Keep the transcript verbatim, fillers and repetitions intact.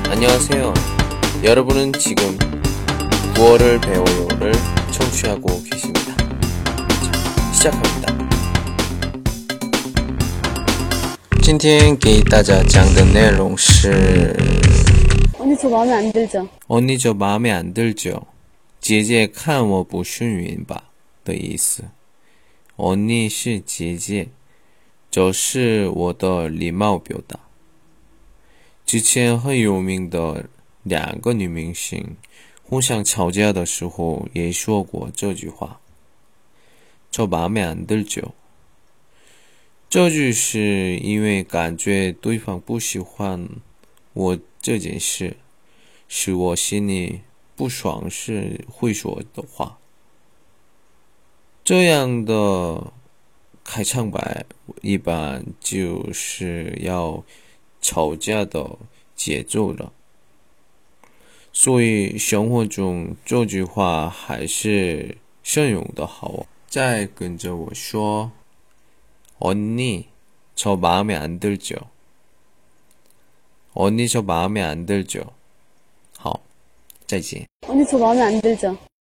안녕하세요. 여러분은 지금 구월을 배워요를 청취하고 계십니다. 자, 시작합니다. 今天给大家讲的内容是 언니 저 마음에 안 들죠? 언니 저 마음에 안 들죠? 姐姐看我不顺眼吧的意思。 언니 是姐姐，这是我的礼貌表达。之前很有名的两个女明星互相吵架的时候也说过这句话，저 마음에 안 들죠。 这句是因为感觉对方不喜欢我这件事，使我心里不爽时会说的话。这样的开场白一般就是要吵架的节奏了，所以生活中这句话还是慎用的好哦。再跟着我说， 언니 저 마음에 안 들죠? 언니 저 마음에 안 들죠? 好，再见。 언니 저 마음에 안 들죠?